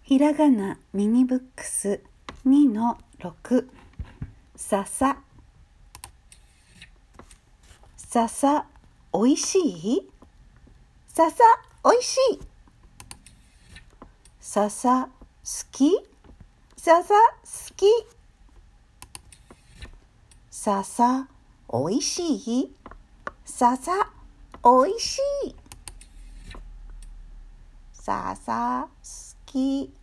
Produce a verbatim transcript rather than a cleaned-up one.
ひらがなミニブックス にのろく 笹笹おいしい笹おいしい笹好き笹好き笹おいしい笹おいしい笹好き